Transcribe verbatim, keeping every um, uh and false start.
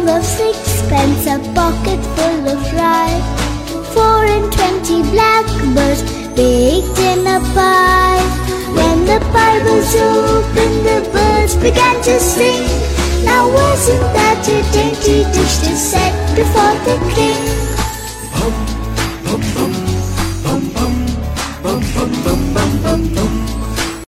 of sixpence, a pocket full of rye, four and twenty blackbirds baked in a pie. When the pie was opened, the birds began to sing. Now wasn't that